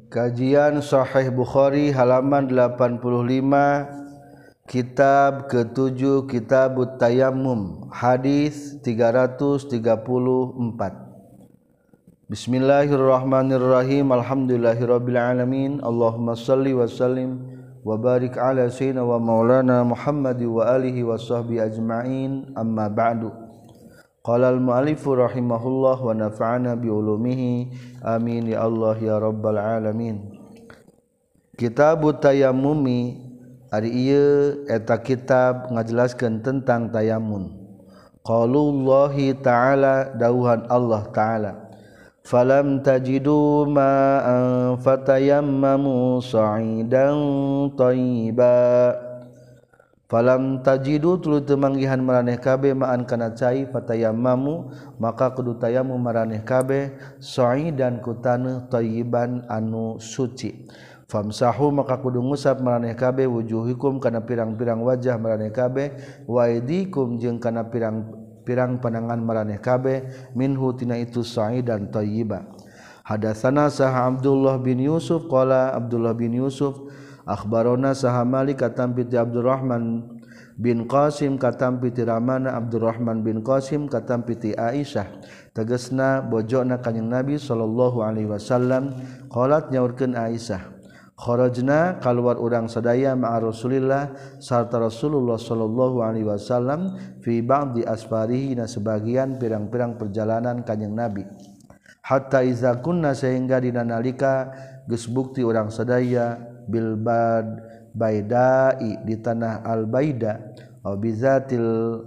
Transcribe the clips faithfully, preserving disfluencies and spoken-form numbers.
Kajian Sahih Bukhari halaman delapan puluh lima, kitab ketujuh, Kitab Tayammum, hadis tiga ratus tiga puluh empat. Bismillahirrahmanirrahim. Alhamdulillahirabbil alamin. Allahumma shalli wa sallim wa barik ala sayyidina wa maulana Muhammad wa alihi wa sahbihi ajma'in. Amma ba'du. Qala al-mu'allifu rahimahullah wa nafa'ana bi ulumihi amin ya Allah ya rabbal alamin. Kitab Tayammumi ari ieu eta kitab ngajelaskeun tentang tayammum. Qaulullahi ta'ala, dawuhan Allah ta'ala, falam tajidu ma'an fatayammamu sa'idan thayyiban. Falam tajidu tuluy teu manggihan maraneh kabeh ma'an kana cai fatayammamu maka kudu tayammum maraneh kabeh sa'idan ku taneuh thayyiban anu suci. Famsahu maka kudu ngusap maraneh kabeh wujuhikum kana pirang-pirang wajah maraneh kabeh wa aydikum jeung kana pirang-pirang panangan maraneh kabeh minhu tina itu sa'idan thayyiba. Hadatsana sah Abdullah bin Yusuf qala Abdullah bin Yusuf akhbarona saha Malik katam piti Abdurrahman bin Qasim katam piti Ramana Abdurrahman bin Qasim katam piti Aisyah tegasna bojona kanjing Nabi sallallahu alaihi wasallam qalat nyaurkeun Aisyah kharajna kaluar urang sadaya ma'a Rasulillah sarta Rasulullah sallallahu alaihi wasallam fi ba'di asfarihi na sebagian pirang-pirang perjalanan kanjing Nabi hatta iza kunna sehingga dina nalika geus bukti urang sadaya bilbad baidai di tanah al-baida aw bizatil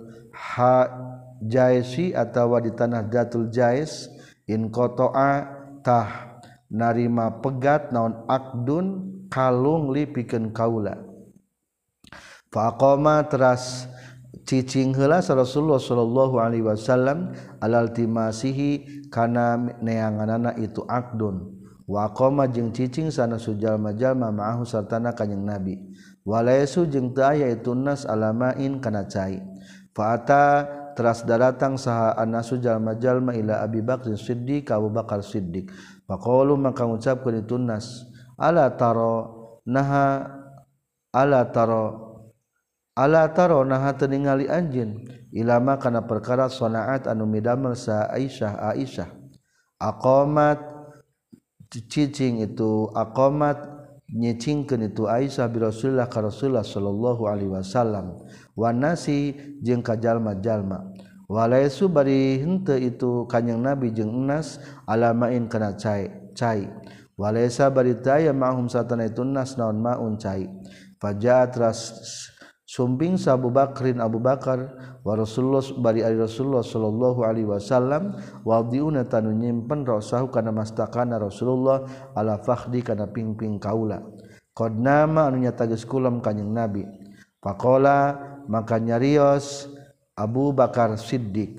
hajaisi atawa di tanah datul jais in qata'a tah narima pegat naon akdun kalung lipikeun kaula fa aqama teras cicing heula Rasulullah sallallahu alaihi wasallam alal timasihi kana neanganana itu akdun wa qama jeung cicing sana sujalma-jalma ma'ahu sartana kanjing Nabi walaisu jeung teu aya itu nas alamain kana cai fa ata teras daratang saha anasu jalma-jalma ila Abi Bakr Siddiq ka Abu Bakar Siddiq faqalu maka ngucapkeun itu nas ala taro naha ala taro ala taro naha teu ningali anjeun ilama kana perkara sanaat anu midamel sa Aisyah Aisyah aqamat cicing itu aqamat nyicingkeun itu Aisyah bi Rasulillah ka Rasulullah sallallahu alaihi wasallam wa nasi jeung ka jalma-jalma walaisu bari henteu itu kanjing Nabi jeung enas alamain kana cai cai walaisa bari teu aya ma'hum satana itu nas naon maun cai fajaat ras sumping sa Abu Bakrin Abu Bakar wa Rasulullah bari ari Rasulullah sallallahu alaihi wasallam wadiuna tanu nyimpen rasahu kana mastakana Rasulullah ala fakhdi kana pingping kaula qad nama anu nyata geus kulam kanjing Nabi faqala maka nyarios Abu Bakar Siddiq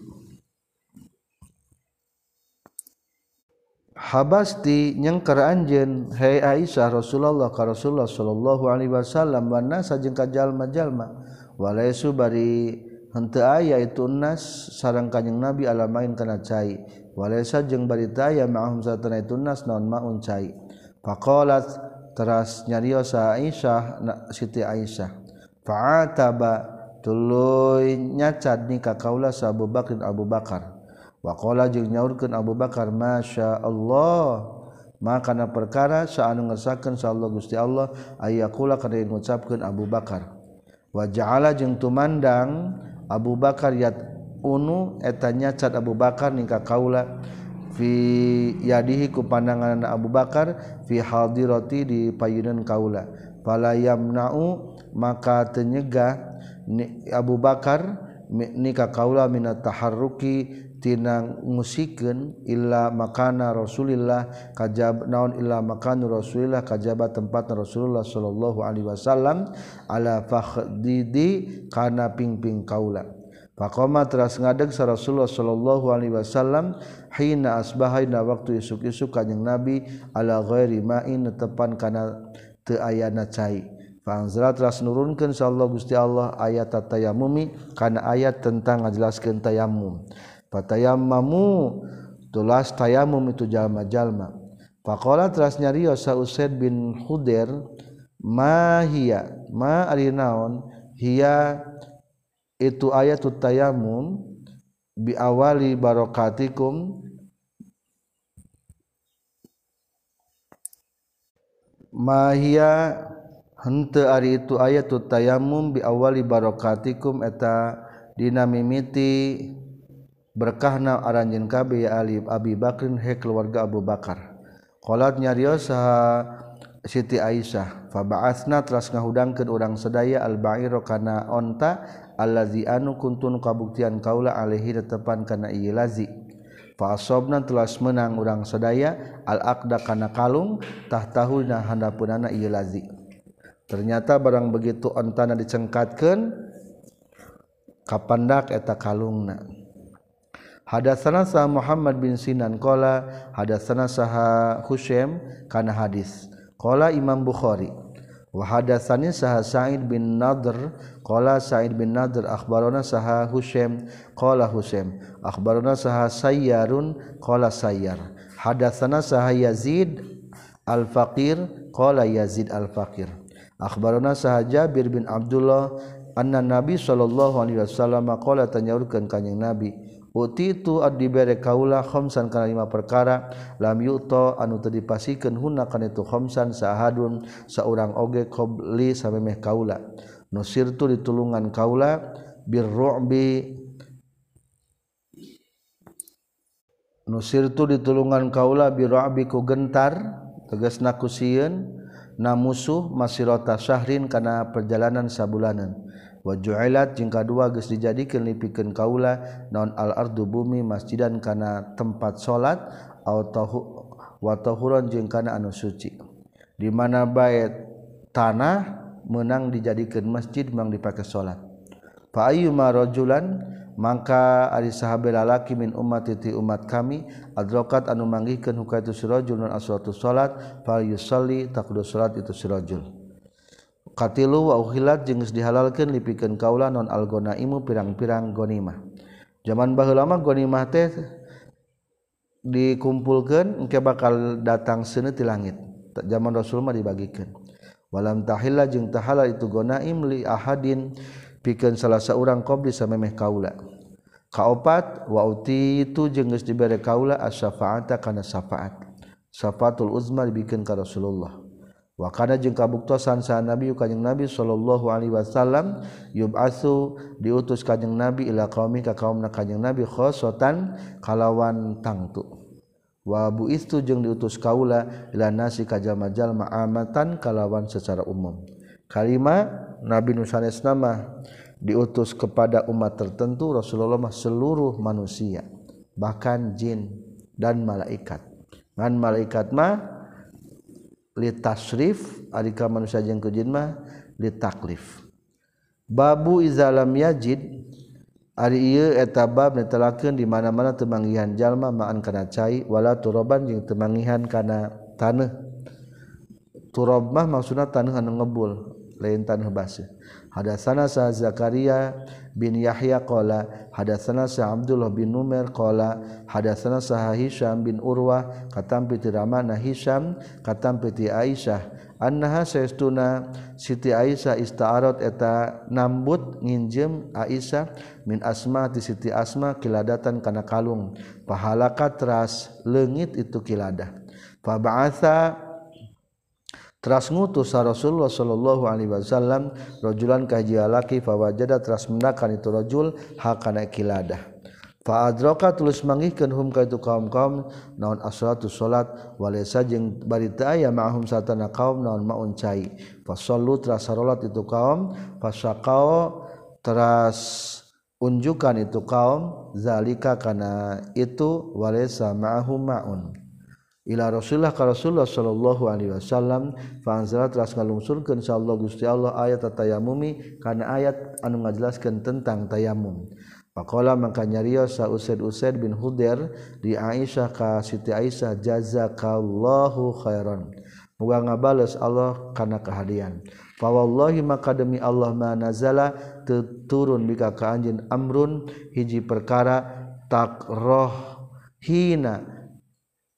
habasti nyengker anjeun hai Aisyah Rasulullah ka Rasulullah sallallahu alaihi wasallam wa nasa jeung ka jalma-jalma walaisu bari henteu aya itu nas sareng kanjing Nabi alamain kana cai walaisa jeung bari teu aya ma'hum satana itu nas naon maun cai faqalat teras nyarios Aisyah Siti Aisyah fa'ataba tuluy nyacad ni ka kaula sa Abu Bakr Abu Bakar wa qala jeung nyaurkeun Abu Bakar masya Allah maka na perkara saanu ngersakeun sa Allah Gusti Allah ayaqula kana ngucapkeun Abu Bakar wa ja'ala jeung tumandang Abu Bakar yat unu eta nyacat Abu Bakar nika kaula fi yadihi ku pandangan Abu Bakar fi hadirati di payunan kaula fala yamna'u maka teu nyegah Abu Bakar nika kaula minat taharruki tina ngusikeun illa makana Rasulillah kajab naon illa makana Rasulillah kajaba tempatna Rasulullah sallallahu alaihi wasallam ala fakhdidi kana pingping kaula faqama teras ngadeg sa Rasulullah sallallahu alaihi wasallam hina asbahaina waktu isuk-isuk kanjing Nabi ala ghairi ma'in tepan kana teu ayana cai Fa'anzala teras nurunkeun sallallahu Gusti Allah ayat tayammumi kana ayat tentang ngajelaskeun tayammum. Fatayammamu tulas tayammum itu jalma-jalma. Faqala teras nyarios sa Usaid bin Khudair ma hiya ma ari naon hiya itu ayatut tayammum bi awali barokatikum ma hiya henteu ari itu ayatut tayammum bi awali barokatikum eta dina mimiti berkahna aranjeun kabeh ya Ali Abi Bakrin he keluarga Abu Bakar. Qalat nyarios saha Siti Aisyah fa ba'atsna teras ngahudangkeun urang sadaya al ba'ira kana onta allazi anu kuntun kabuktian kaula alaihi tetepan kana ieu lazi fa asobna telas menang urang sadaya al aqda kana kalung tahtahuna handapeunana ieu lazi. Ternyata barang begitu ontana dicengkatkeun kapandak eta kalungna. Hadatsana sa Muhammad bin Sinan qala hadatsana saha Husaim kana hadis qala Imam Bukhari wa hadatsani saha Sa'id bin Nadr qala Sa'id bin Nadr akhbarana saha Husaim qala Husaim akhbarana saha Sayyarun qala Sayyar hadatsana saha Yazid al-Faqir qala Yazid al-Faqir akhbarana saha Jabir bin Abdullah anna Nabi sallallahu alaihi wasallam qala tanyaurkeun kanjing Nabi utitu adibere kaula khamsan kana lima perkara lam yuto anu teu dipasikeun hunna kana itu khamsan sahadun saurang oge qabli samemeh kaula nusirtu ditulungan kaula birru'bi nusirtu ditulungan kaula birru'bi ku gentar tegasna ku sieun na musuh masirata syahrin kana perjalanan sabulanan wa ju'ilat jeung kadua geus dijadikeun lipikeun kaula naon al ardu bumi masjidan kana tempat salat au tahu wa tahuran jeung kana anu suci di mana bae tanah meunang dijadikeun masjid meunang dipake salat fa ayyuma rajulan mangka ari sahabe lalaki min ummati ti umat kami adrokat anu manggihkeun hukaitu sirajul non asratu salat fal yusalli taqdu salat itu sirajul Katilu wa uhilat jeung geus dihalalkeun lipikeun kaula non algonaimu pirang-pirang gonimah. Zaman baheula mah gonimah teh dikumpulkeun engke bakal datang seuneu ti langit. Zaman Rasul mah dibagikeun. Walam tahilla jeung tahalal itu gonaim li ahadin pikeun salah saurang qabli samemeh kaula. Kaopat wa uti itu jeung geus dibere kaula as-syafaata kana syafaat. Syafaatul uzma dibikeun ka Rasulullah. Wa kana jeung kabuktosan saha Nabi kanjing Nabi sallallahu alaihi wasallam yub'atsu diutus kanjing Nabi ila qaumi ka kaumna kanjing Nabi khosotan kalawan tangtu wa buistu jeung diutus kaula ila nasi ka jalma-jalma amatan kalawan secara umum kalima Nabi nu sanesna mah diutus kepada umat tertentu Rasulullah mah seluruh manusia bahkan jin dan malaikat ngan malaikat mah litasrif alika manusia jeung jin mah litaklif babu izalam yajid ari ieu eta bab netelakeun di mana-mana teu manggihan jalma ma'an kana cai wala turaban jeung teu manggihan kana taneuh turab mah maksudna taneuh anu ngebul lain taneuh baseuh hadatsana sa Zakaria bin Yahya qala hadatsana sa Abdullah bin Numair qala hadatsana sa Hisham bin Urwah katampi ti ramana Hisham katampi ti Aisyah annaha saestuna Siti Aisyah ista'arat eta nambut nginjem Aisyah min Asma ti Siti Asma kiladatan kana kalung pahalaka teras leungit itu kiladah fa ba'atha teras ngutus Rasulullah sallallahu alaihi wasallam rajulan ka hiji lalaki fa wajada teras mendakan itu rajul hakana kiladah fa adraka tulus manggihkeun hum ka itu kaum-kaum naon as-salatu salat walaysa jeung bari teu aya ma'hum satana kaum naon maun cai fa sallu teras salat itu kaum fa syaqao teras unjukan itu kaum zalika kana itu walaysa ma'hum ma'un ila Rasulullah ka Rasulullah sallallahu alaihi wasallam fa anzala teras ngalungsurkeun insyaallah Gusti Allah ayat tayammumi kana ayat anu ngajelaskeun tentang tayamum. Faqala mangka nyarios sa Usaid Usaid bin Khudair di Aisyah ka Siti Aisyah jazakallahu khairan. Muga ngabales Allah kana kahadian. Fa wallahi maka demi Allah ma nazala turun bika ka anjeun amrun hiji perkara takroh hina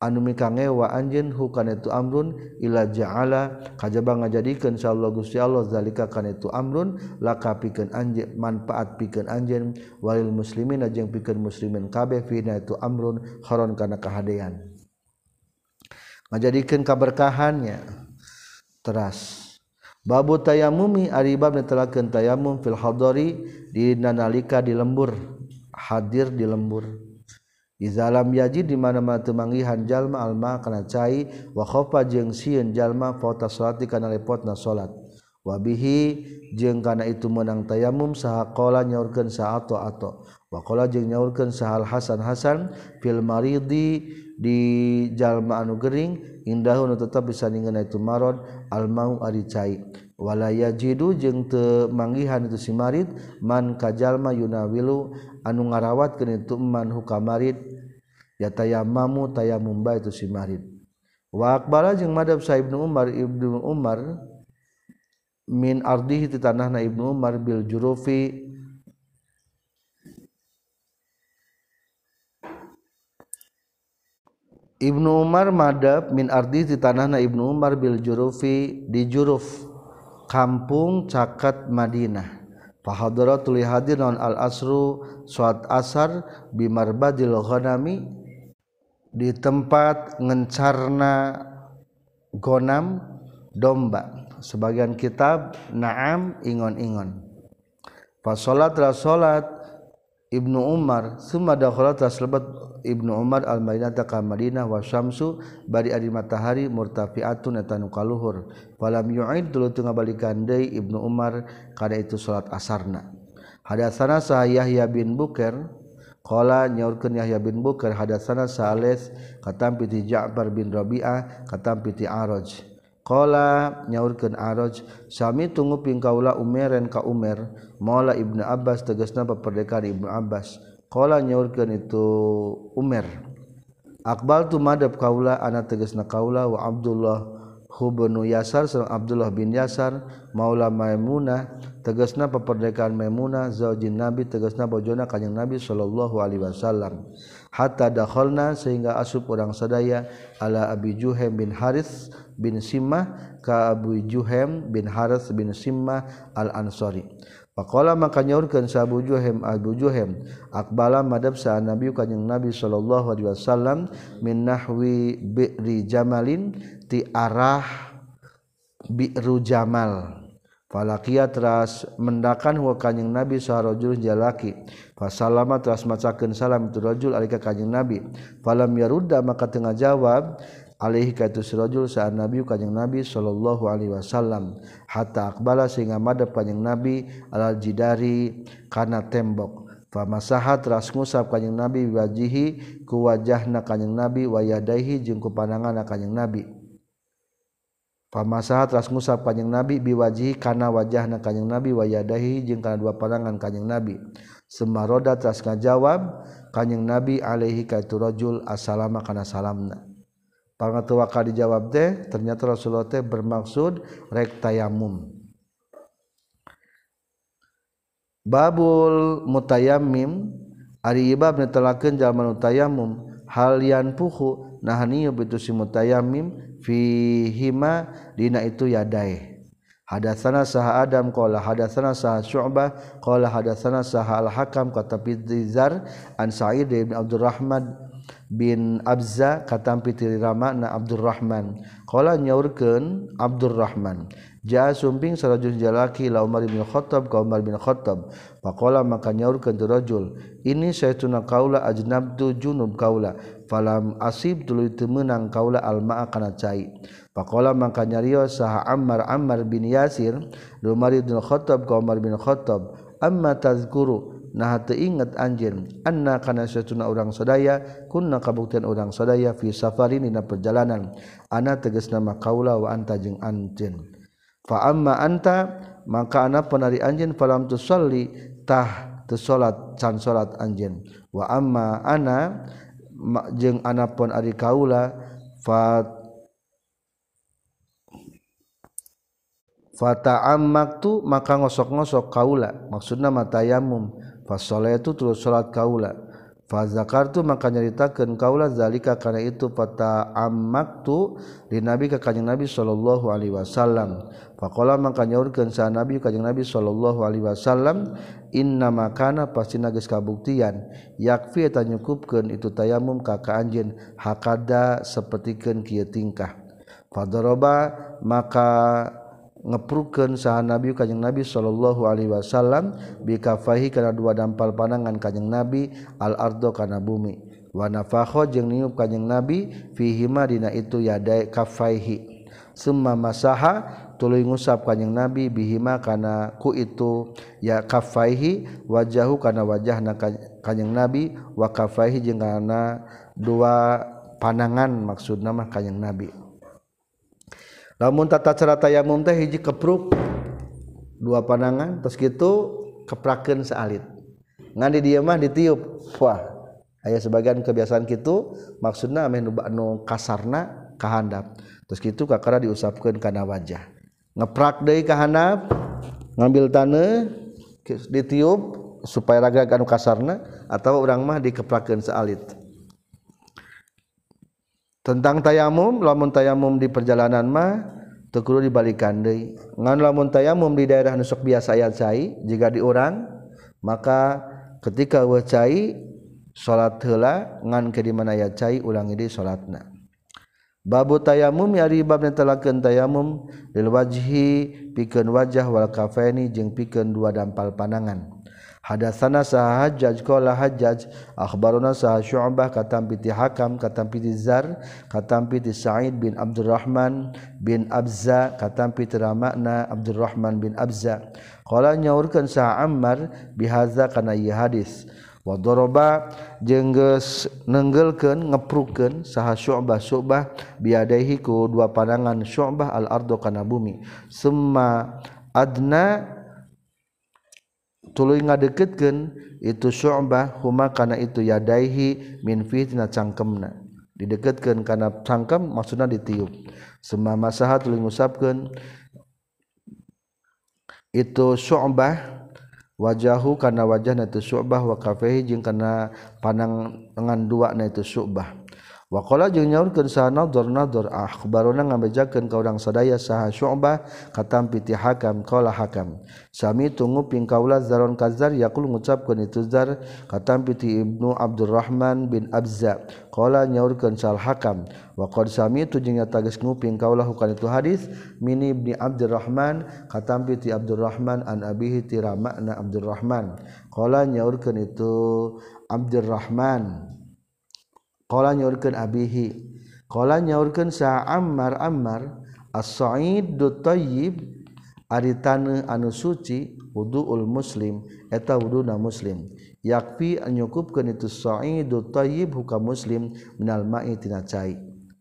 anu mikangewa anjeun hukana itu amrun ila ja'ala kajaba ngajadikeun insyaallah Gusti Allah zalika kana itu amrun laka pikeun anjeun manfaat pikeun anjeun walil muslimin jeung pikeun muslimin kabeh fina itu amrun kharon kana kahadean ngajadikeun kaberkahannya teras babu tayamumi ari bab netelakeun tayamum fil hadari di nalika di lembur hadir di lembur izalam yaji di mana-mana teu manggihan jalma alma kana cai wa khofa jeung sieun jalma fauta salati kana lepotna salat wa bihi jeung kana itu meunang tayamum saha qala nyaurkeun sa ato ato wa qala jeung nyaurkeun sahal Hasan Hasan fil maridi di jalma anu gering indahu nu tetep bisa ningeuna itu marad al mau ari cai wala yajidu jeung teu manggihan itu si marid man ka jalma yunawilu anu ngarawatkeun itu man hukamarid ya tayammamu tayammum ba itu si marid wa aqbala jeung madhab sa Ibnu Umar Ibnu Umar min ardihi ti tanahna Ibnu Umar bil jurufi Ibnu Umar madhab min ardihi ti tanahna Ibnu Umar bil jurufi di juruf kampung caket Madinah fahadaratul hadir naon al asru salat asar bimarbadil ghanami di tempat ngencarna gonam domba sebagian kitab naam ingon-ingon fa salat ra salat Ibnu Umar summa dakhala taslebat Ibnu Umar al-Madinah ka Madinah wa syamsu bari ari matahari murtafiatun eta nu kaluhur falam yu'id tuluy teu ngabalikeun deui Ibnu Umar kada itu salat asarna hadatsana sa Yahya bin Bukair qala nyaurkeun Yahya bin Bukair hadatsana Salis katampi ti Ja'far bin Rabi'ah katampi ti Araj qala nyaurkeun Araj sami tunggu pingkaula Umeren ka Umer maula Ibnu Abbas tegasna paperdekaan Ibnu Abbas qala nyaurkeun itu Umar aqbal tu madhab kaula ana tegasna kaula wa Abdullah bin Yasar sareng Abdullah bin Yasar maula Maimunah tegasna paperdekaan Maimunah zaujin Nabi tegasna bojona kanjeng Nabi sallallahu alaihi wasallam hatta dakhalna sehingga asup urang sadaya ala Abi Juhaim bin Harits bin Simmah ka Abu Juhaim bin Harits bin Simmah al-Ansari faqala maka nyaurkeun sa Abu Juhaim Abu Juhaim aqbala madhab sa Nabi kanjeng Nabi sallallahu alaihi wasallam min nahwi bi'ri jamalin ti arah bi'ru jamal falaqiya teras mendakan huwa kanjeng Nabi saharajul jalaki fasallama teras macakeun salam itu rajul alika kanjeng Nabi falam yarudda maka teu ngajawab alaihi ka itu rajul sa Nabi kanjeng Nabi sallallahu alaihi wasallam hatta aqbala sehingga madhab kanjeng Nabi alal jidari kana tembok famasahat teras ngusap kanjeng Nabi wajihi ku wajahna kanjeng Nabi wa yadaihi jeung ku pandanganna kanjeng Nabi pamasahat teras ngusap kanjeng Nabi biwajihi kana wajahna kanjeng Nabi wa yadaihi jeung kana dua pandangan kanjeng Nabi semaroda teras ngajawab kanjeng Nabi alaihi ka itu rajul assalamu kana salamna pangateu waka dijawab teh ternyata Rasulullah teh bermaksud rek tayamum babul mutayammim ari bab netelakeun jalma nu tayamum hal yanfuhu nahani bitu si mutayammim fihima dina itu yadae hadatsana saha Adam qala hadatsana saha Syu'bah qala hadatsana saha al-Hakam kata Bizar an Sa'id bin Abdurrahman bin Abza katampi ti ramana Abdurrahman qala nyaurkeun Abdurrahman jaa sumping sarajul jalaki la Umar bin Khattab ka Umar bin Khattab faqala maka nyaurkeun tu rajul ini saytuna kaula ajnabtu junub kaula falam asib tuluy teu meunang kaula almaa kana cai faqala maka nyarios saha Ammar Ammar bin Yasir Umar bin Khattab ka Umar bin Khattab amma tazkuru nah teu inget anjeun anna kana satuna urang sadaya kunna kabuktian urang sadaya fi safarin dina perjalanan ana tegasna mah kaula wa anta jeung anjeun fa amma anta maka ana penari anjeun falam tusalli tah teu salat can salat anjeun wa amma ana jeung ana pon ari kaula fa fata'ammaktu maka ngosok-ngosok kaula maksudna matayamum fasolatu terus salat kaula fa zakartu maka nyaritakeun kaula zalika kana itu fata ammaktu di nabi ka kanjing nabi sallallahu alaihi wasallam faqala maka nyaurkeun sa nabi kanjing nabi sallallahu alaihi wasallam inna makana pastina geus kabuktian yakfi eta nyukupkeun itu tayamum ka ka anjeun hakada sapertikeun kieu tingkah fadaraba maka ngeprukeun saha nabi kanjing nabi sallallahu alaihi wasallam bi kafaihi kana dua dampal panangan kanjing nabi al ardo kana bumi wa nafakha jeung niup kanjing nabi fihi ma dina itu yadai kafaihi summa masaha tuluy ngusap kanjing nabi bihima kana ku itu ya kafaihi wajahu kana wajahna kanjing nabi wa kafaihi jeung kana dua panangan maksudna mah kanjing nabi. Lamun tata cara tayamum teh hiji kepruk dua panangan terus kitu keprakeun saalit. Ngan di dieu mah ditiup. Wah, aya sebagian kebiasaan kitu maksudna ameh nu anu kasarna ka handap. Terus kitu kakara diusapkeun kana wajah. Ngeprak deui ka handap, ngambil taneuh ditiup supaya raga anu kasarna atawa urang mah dikeprakeun saalit. Tentang tayamum, lamun tayamum di perjalanan mah teu kudu dibalikan deui. Ngan lamun tayamum di daerah nu sok biasa aya cai, jika di urang maka ketika weuh cai salat heula ngan ke di mana aya cai ulangi deui salatna. Babu tayamum yari bab netelakeun tayamum lil wajhi pikeun wajah wal kafaini jeung pikeun dua dampal panangan. Hadatsana sah Hajjaj qala Hajjaj akhbaruna sah Syu'bah katam piti Hakam katam piti Zar katam piti Sa'id bin Abdurrahman bin Abza katam piti Ramakna Abdurrahman bin Abza qala nyaurkeun sah Ammar bihaza kana ieu hadis wa daraba jeung geus neunggeulkeun ngeprukeun saha Syu'bah Syu'bah biadaihi ku dua pandangan Syu'bah al ardo kana bumi summa adna tuluy ngadeukeutkeun itu Syu'bah huma kana itu yadaihi min fitina cangkemna dideukeutkeun kana cangkem maksudna ditiup summa masaha tuluy ngusapkeun itu Syu'bah wajahu kana wajahna itu Syu'bah wa kafaihi jeung kana pandangan dua na itu Syu'bah wa qala jeung nyaurkeun saha Nadhr Nadhr akhbaruna ngabejakeun ka urang sadaya saha Syu'bah katam piti Hakam qala Hakam sami tunguping kaula Zaron Kazar yaqul ngucapkeun itu Zar katam piti Ibnu Abdurrahman bin Abza qala nyaurkeun sal Hakam wa qad sami tu jeung nyata geus nguping kaula hukan itu hadis mini Ibni Abdurrahman katam piti Abdurrahman an abihi tiramana Abdurrahman qala nyaurkeun itu Abdurrahman qala nyaurkeun abihi qala nyaurkeun sa Ammar Ammar as-sa'idut thayyib ari taneuh anu suci wuduul muslim eta wuduna muslim yakfi nyukupkeun itu sa'idut thayyib hukam muslim minal ma'i tina cai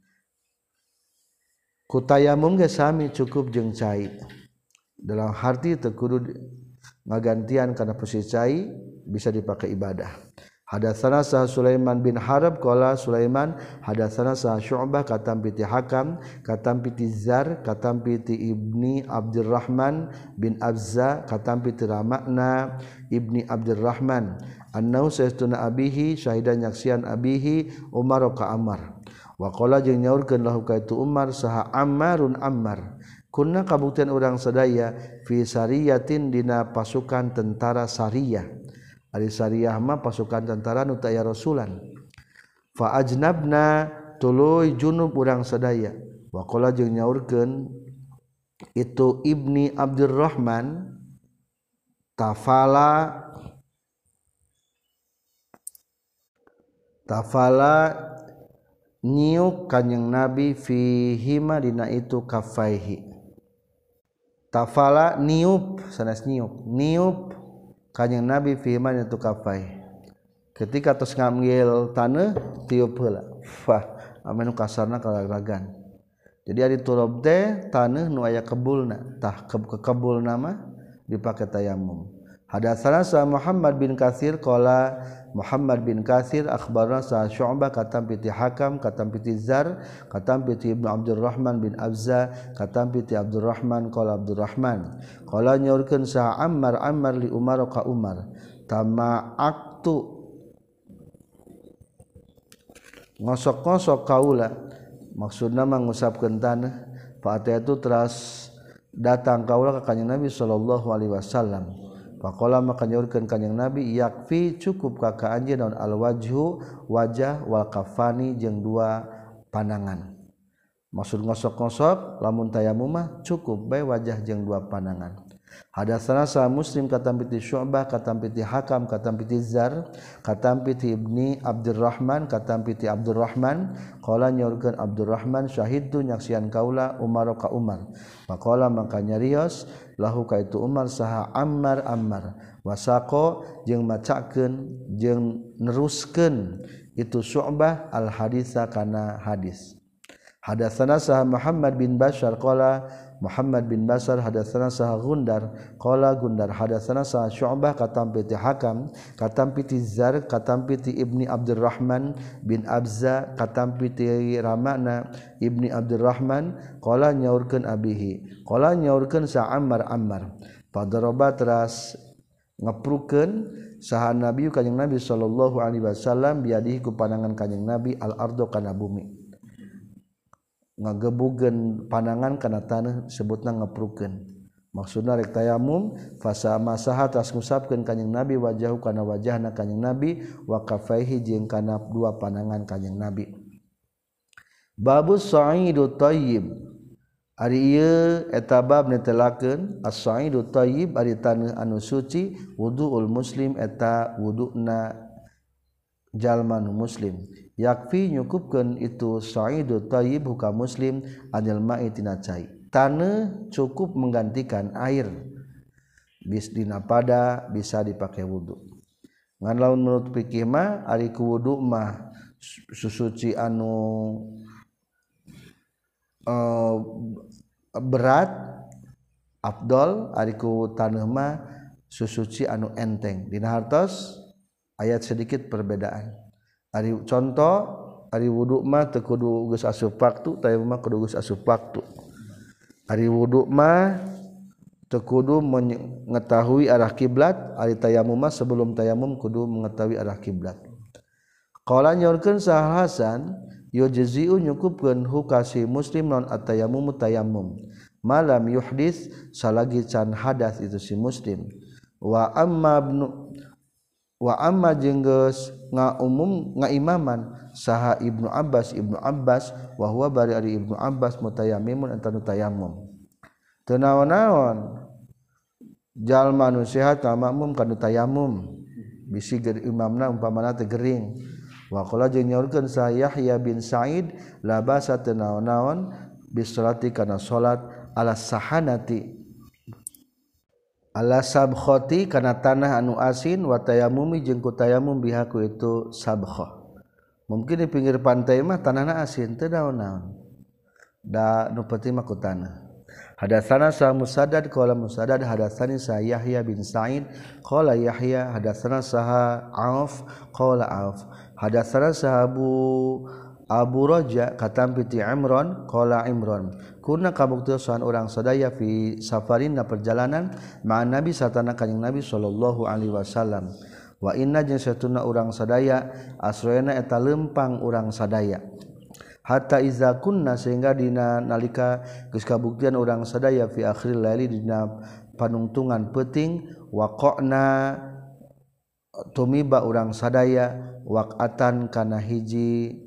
ku tayamum ge sami cukup jeung cai dalam arti teu kudu ngagantian kana posisi cai bisa dipakai ibadah. Hadatsana sah Sulaiman bin Harb qala Sulaiman hadatsana sah Syu'bah katam piti Hakam katam piti Zar katam piti Ibni Abdurrahman bin Abza katam piti Ramakna Ibni Abdurrahman annau saestuna abihi syahidan nyaksian abihi Umar ka Ammar wa qala jeung nyaurkeun lahu ka itu Umar saha Ammarun Ammar kunna kabuktian urang sadaya fi sariyatin dina pasukan tentara Sariyah ari Sariyah mah pasukan tentara nu teu aya rasulan fa ajnabna tuluy junub urang sadaya wa qala jeung nyaurkeun itu Ibni Abdurrahman tafala tafala nyiuk kanjing Nabi fihima dina itu kafaihi tafala niup sanes niup niup kanjing Nabi fi man itu kafai ketika tos ngambil taneuh tiup heula fah anu kasarna kalaragan jadi ari turab teh taneuh nu aya kebulna tah ke kebulna mah dipake tayamum hadatsana sa Muhammad bin Katsir qala Muhammad bin Katsir akhbarana sa Syu'bah katam piti Hakam katam piti Zar katam piti Ibnu Abdurrahman bin Abza katam piti Abdurrahman qala Abdurrahman qala nyaurkeun sa Ammar Ammar li Umar ka Umar tama'aktu ngosok-ngosok kaula maksudna mengusapkeun tanah fa itu teras datang kaula ka kanjing Nabi sallallahu alaihi wasallam faqala maka nyaurkeun kanjing Nabi yakfi cukup ka ka anjeun naon alwajhu wajah wal kafani jeung dua panangan maksud ngosok-ngosok lamun tayamum mah cukup bae wajah jeung dua panangan. Hadatsana sa Muslim katam piti Syu'bah katam piti Hakam katam piti Zar katam piti Ibni Abdurrahman katam piti Abdurrahman qala nyaurkeun Abdurrahman syahidtu nyaksian kaula Umar ka Umar faqala maka nyarios lahu ka itu Umar saha Ammar Ammar wasaqo jeung macakeun jeung neruskeun itu Syu'bah al haditsa kana hadis. Hadatsana sa Muhammad bin Bashar qala Muhammad bin Basar hadatsana saha Gundar qala Gundar hadatsana saha Syu'bah katam piti Hakam katam piti Zar katam piti Ibni Abdurrahman bin Abza katam piti Ramana Ibni Abdurrahman qala nyaurkeun abihi qala nyaurkeun sa Ammar Ammar padaraba teras ngeprukeun saha Nabi kanjing Nabi sallallahu alaihi wasallam biadihi ku panangan kanjing Nabi al ardo kana bumi ngagebugeun panangan kana tanah sebutna ngeprukeun maksudna rek tayamum fasa masaha tas ngusapkeun kanjing Nabi wajahu kana wajahna kanjing Nabi wa kafaihi jeung kana dua panangan kanjing Nabi. Babus sa'idu thayyib ari ieu eta bab netelakeun as-sa'idu thayyib ari taneuh anu suci wuduul muslim eta wuduna jalma nu muslim yakfi nyukupkeun itu sa'idu thayyib huka muslim anil ma'i tina cai taneuh cukup menggantikan air bis dina pada bisa dipakai wudu ngan laun menurut fikih mah ari ku wudu mah susuci anu uh, berat afdol ari ku taneuh mah susuci anu enteng dina hartos ayat sedikit perbedaan. Ari contoh ari wudu mah teu kudu geus asup waktu tayamum mah kudu geus asup waktu. Ari wudu mah teu kudu mengetahui arah kiblat, ari tayamum mah sebelum tayamum kudu mengetahui arah kiblat. Qala nyorkeun Sahal Hasan yujzi'u nyukupkeun hukasi muslim non at-tayammum tayammum malam yuhdits salagi can hadas itu si muslim wa amma ibnu wa amma jeung geus ngaumum ngaimaman saha Ibnu Abbas Ibnu Abbas wa huwa bari ari Ibnu Abbas mutayammimun anta nu tayammum teu naon-naon jalma nu sehat makmum kana tayammum bisi ger imamna umpamana teh gering wa qala jeung nyaurkeun sa Yahya bin Sa'id la basa teu naon-naon bisolati kana salat ala sahanati ala sabkhati kana tanah anu asin wa tayammumi jeung ku tayammum bihaku itu sabkhah mungkin di pinggir pantai mah tanahna asin teu naon-naon da nu penting mah ku tanah. Hadatsana sa Musaddad qala Musaddad hadatsani sa Yahya bin Sa'id qala Yahya hadatsana saha Auf qala Auf hadatsana sa Abu Abu Raja katam piti Imran qala Imran kunna kabuktian orang sadaya fi safarin na perjalanan ma'an Nabi satana kanjing Nabi sallallahu alaihi wasallam wa inna jeung satuna urang sadaya asroena eta lempang urang sadaya hatta iza kunna sehingga dina nalika geus kabuktian urang sadaya fi akhiril laili dina panungtungan peuting waqana tumiba urang sadaya waqatan kana hiji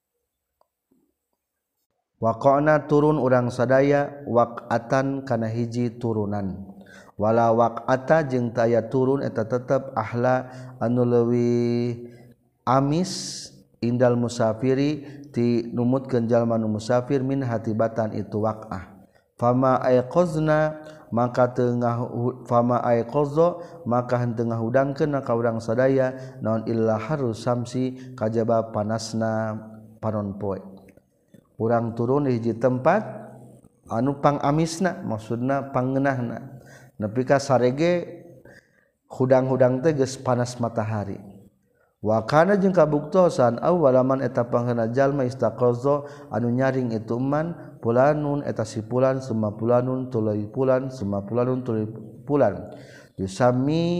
waqana turun urang sadaya waqatan kana hiji turunan wala waqata jeung taya turun eta tetep ahla anu leuwih amis indal musafiri ti numutkeun jalma nu musafir min hatibatan itu waqah fama ayqazna maka tengah fama ayqaza maka henteu ngahudangkeun ka urang sadaya naon illa harus samsi kajaba panasna panon poe urang turun di hiji tempat anu pang amisna maksudna pangeunahna nepi ka sarege hudang-hudang teh geus panas matahari wa kana jeung kabuktosan awalaman eta pangeuna jalma istaqaza anu nyaring itu man pulanun eta si pulan summa pulanun tuluy pulan summa pulanun tuluy pulan yusami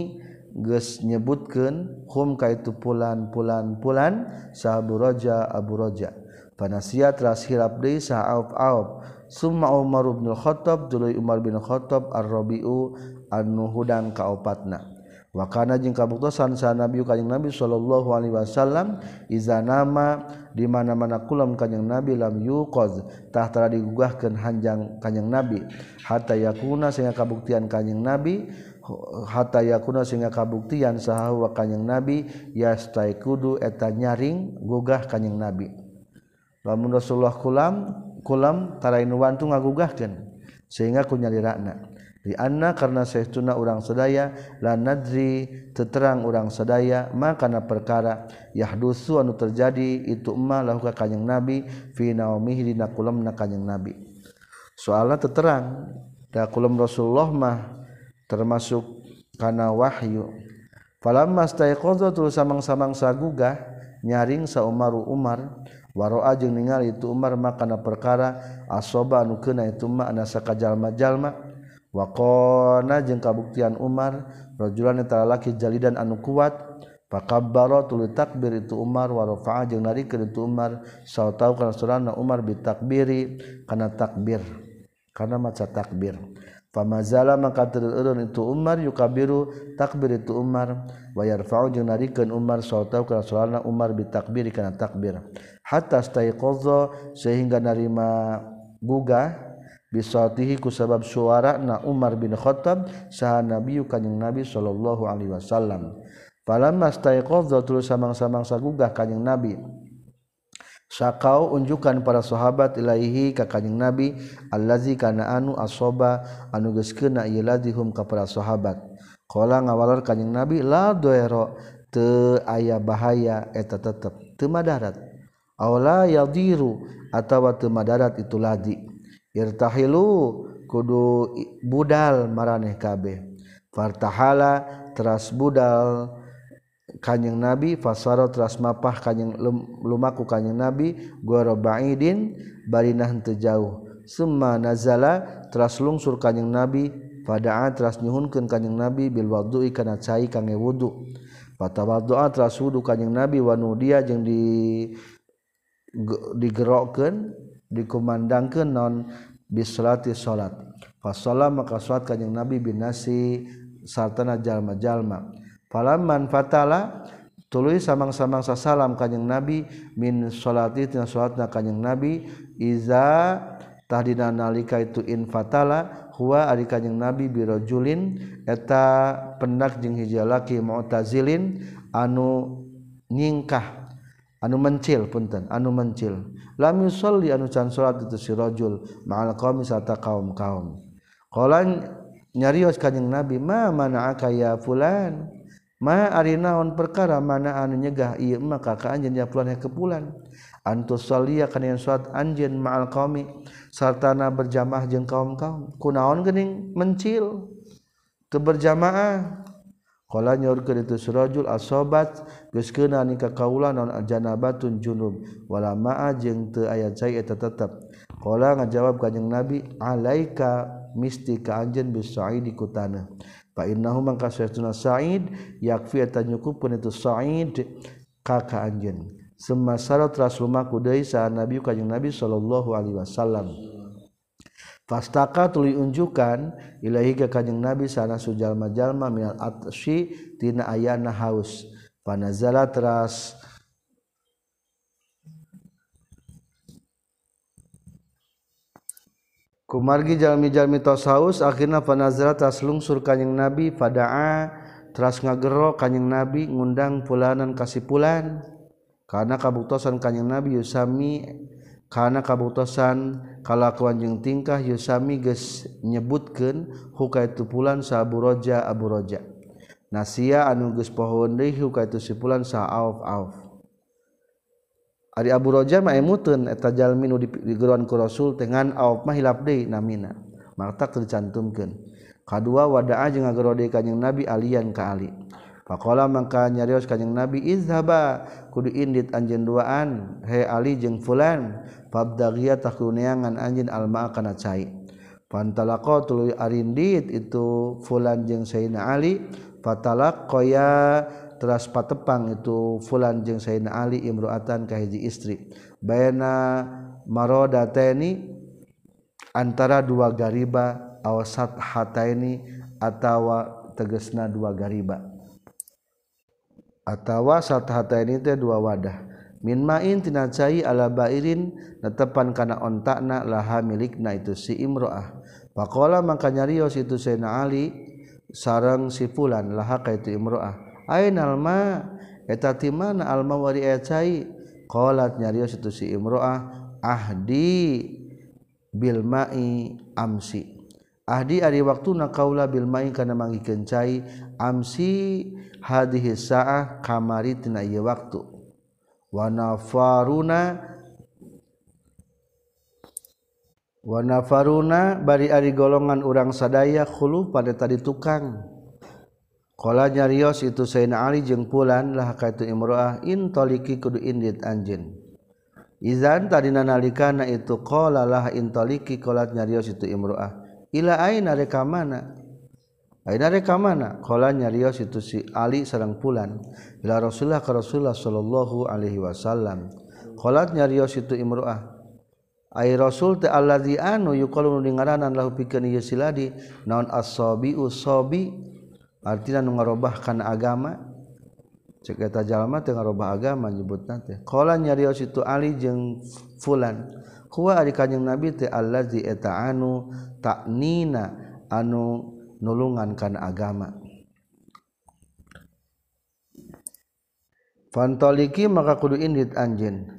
geus nyebutkeun hum ka itu pulan-pulan-pulan sa Abu Raja Abu Raja panasiat ras hilap deui sa Auf-Auf summa Umar bin Khattab tuluy Umar bin Khattab ar-Rabi'u anu hudang kaopatna wa kana jeung kabuktosan sa Nabi kanjing Nabi sallallahu alaihi wasallam iza nama di mana-mana kulam kanjing Nabi lam yuqaz tah tara digugahkeun hanjang kanjing Nabi hatta yakuna sehingga kabuktian kanjing Nabi hatta yakuna sehingga kabuktian saha wa kanjing Nabi yastaikudu eta nyaring gugah kanjing Nabi lamun Rasulullah kulam kulam tara inu wantu ngagugahkeun sehingga ku nyalirana di anna karena saestuna urang sadaya la nadri teterang urang sadaya makana perkara yahdusu anu terjadi itu emma lahu ka kanjing Nabi fi naumihi dina kulamna kanjing Nabi soalna teterang da kulam Rasulullah mah termasuk kana wahyu falamma staiqadha tu samang-samang sagugah nyaring sa Umaru Umar waroa jeung ningali itu Umar makana perkara asoba anu keuna itu mah ana sakajalma-jalma waqana jeung kabuktian Umar rajulan eta lalaki jalidan anu kuat fakabbara tuluy takbir itu Umar wa rafa'a jeung narikeun itu Umar sautau kana surana Umar bitakbiri kana takbir kana maca takbir famazala maka tereureun itu Umar yukabiru takbir itu Umar wa yarfa'u jeung narikeun Umar sautau kana surana Umar bitakbiri kana takbir hatta staiqadha sehingga narima gugah bisautihi ku sabab suarana Umar bin Khattab saha Nabi kanjing Nabi sallallahu alaihi wasallam falamma staiqadha tulus samang-samang sagugah kanjing Nabi sakau unjukan para sahabat ilaihi ka kanjing Nabi allazi kana anu asoba anu geus keuna ieu ladihum ka para sahabat qala ngawalor kanjing Nabi la doero teu aya bahaya eta tetep teu madarat aula yadiru atawa teu madarat itu ladi irtahilu kudu budal maraneh kabeh fartahala teras budal kanjing Nabi fasara teras mapah kanjing lumaku kanjing Nabi gora ba'idin barinah teu jauh summa nazala teras lungsur kanjing Nabi fada'a teras nyuhunkeun kanjing Nabi bil wudu'i kana cai kangge wudu fatawaddu'a teras wudu kanjing Nabi wa nudiya jeung di digerokkeun dikumandangkeun non bisolati salat fasalla maka salat kanjing Nabi binasi sartana jalma-jalma falamman fatala tuluy samang-samang sasalam kanjing Nabi min salati tina salatna kanjing Nabi iza tahdina nalika itu in fatala huwa ari kanjing Nabi birajulin eta pendak jeung hiji lalaki mu'tazilin anu nyingkah anu mencil punten anu mencil lam yusolli anu can salat itu si rajul ma'al qaumi sarta kaum-kaum qala nyarios kanjing Nabi ma mana'aka ya fulan ma ari naon perkara mana anu nyegah ieu mah ka anjeun ya fulan ke fulan antus salliya kana salat anjeun ma'al qaumi sartana berjamaah jeung kaum-kaum kunaon geuning mencil teu berjamaah qala nyorkeun itu surajul asobat geus keuna ni ka kaula naon janabatun junub wala ma'a jeung teu aya cai eta tetep qala ngajawab kanjing Nabi alaika misti ka anjeun bis sa'idi ku tanah fa innahu man kasatuna sa'id yakfi eta nyukupkeun itu sa'id ka ka anjeun summa sarat rasulumaku deui sa Nabi kanjing Nabi sallallahu alaihi wasallam fastaka tuluy unjukan ilahi ka kanjing Nabi sana sujalma-jalma minal atsy tina ayana haus panazala teras kumargi jalmi-jalmi tos haus akhirna panazala teras lungsur kanjing Nabi fadaa teras ngagero kanjing Nabi ngundang pulanan kasih pulan karena kabuktosan kanjing Nabi yusami karena kabuktosan kalakuan jeung tingkah yusami geus nyebutkeun huka itu pulan sa Abu Raja Abu Raja nasia anu geus pohoon deui huka itu si pulan sa Auf-Auf ari Abu Raja mah emuteun eta jalmi nu digeroan ku Rasul dengan Auf mah hilap deui namina maka dicantumkeun kadua wada'a jeung ngagero deui kanjing Nabi alian ka Ali faqala mangka nyarios kanjing Nabi izhaba kudu indit anjeun duaan he Ali jeung fulan fabdaghiya takuneangan anjeun alma kana cai pantalaqa tuluy arindit itu fulan jeung Sayyidina Ali fatalaqaya teras patepang itu fulan jeung Sayyidina Ali imro'atan ka hiji istri baina maradataini antara dua gariba aw sathataini atawa tegasna dua gariba atawa sathataini teh dua wadah min ma'in tina cai ala bairin netepan kana ontakna laha milikna itu si imro'ah faqala maka nyarios itu Sayyidina Ali sareng si fulan laha ka itu imro'ah ainal ma eta ti mana alma wari cai qalat nyarios itu si imro'ah ahdi bil ma'i amsi ahdi ari waktuna qaula bil ma'i kana mangikeun cai amsi hadhihi saah kamari tina ieu waktu wa nafaruna wa nafaruna bari ari golongan urang sadaya khulu pada tadi tukang qala nyarios itu Sayyidina Ali jeung pulan lah ka itu imro'ah in taliki kudu indit anjeun izan tadina nalikana itu qala lah in taliki qalat nyarios itu imro'ah ila aina reka mana aina reka mana qala nyarios itu si Ali sareng pulan ila Rasulullah ka Rasulullah sallallahu alaihi wasallam qalat nyarios itu imro'ah ai rasul ta allazi anu yuqalu ngaranan lahu pikeun ieu siladi naon as-sabi usabi artina nu ngarobahkan agama cek eta jalma teu ngarobah agama nyebutna teh qala nyarios itu Ali jeung fulan huwa ari kanjing Nabi teh allazi eta anu taknina anu nulungan kana agama fantoliki maka kudu indit anjeun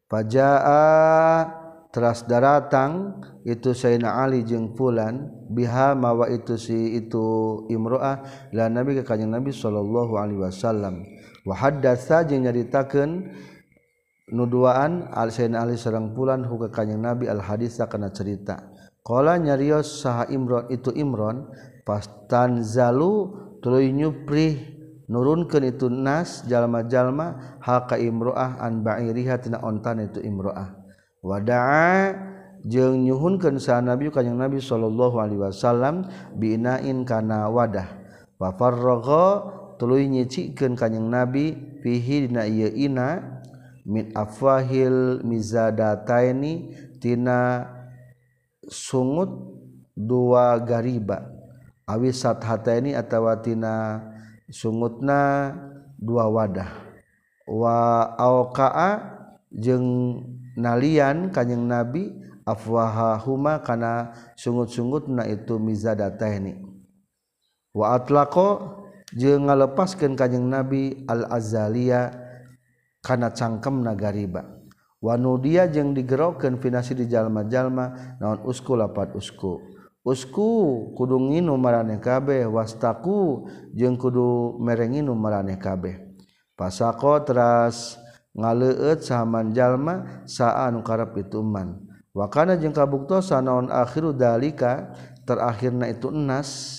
fajaa teras daratang itu Sayyidina Ali jeung fulan biha mawa itu si itu imro'ah la Nabi ka kanjing Nabi sallallahu alaihi wasallam wa haddatsa jeung nyaritakeun nuduaan al Sayyidina Ali sareng fulan hu ka kanjing Nabi al haditsa kana cerita qala nyarios saha Imron itu Imron pastanzalu tuluy nyuprih nurunkeun itu nas jalma-jalma ha ka imro'ah an ba'iriha tina ontan itu imro'ah wada'a jeung nyuhunkeun sa Nabi kanjing Nabi sallallahu alaihi wasallam binain kana wadah wa farragha tuluy nyicikeun kanjing Nabi fihi dina ieu ina min afwahil mizadataini tina sungut dua gariba awi sathataini atawa tina sungutna dua wadah wa auqa'a jeung nalian kanjing Nabi afwahahuma kana sungut-sungutna itu mizadataini wa atlaqo jeung ngalepaskeun kanjing Nabi al-azaliya kana cangkemna gariba wa nudia jeung digerokeun finasi di jalma-jalma naon usku lapat usku usku kudu nginum maraneh kabeh wastaku jeung kudu merenginum maraneh kabeh pasako teras ngaleueut sahaman jalma saa anu karep itu man wa kana jeung kabuktosan naon akhiru dalika terakhirna itu enas